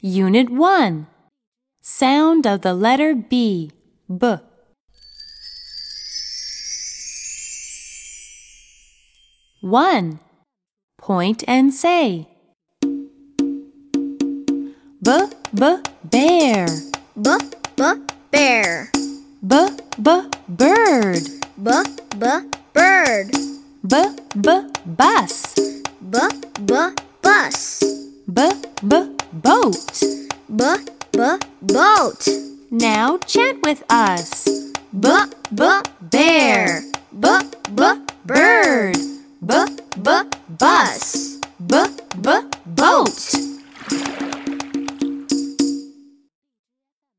Unit 1. Sound of the letter B. B. One. Point and say. B, b, bear. B, b, bear. B, b, bird. B, b, bird. B, b, bus. B, b, bus. B, b, boat. B, b, boat. Now chant with us. B, b, bear.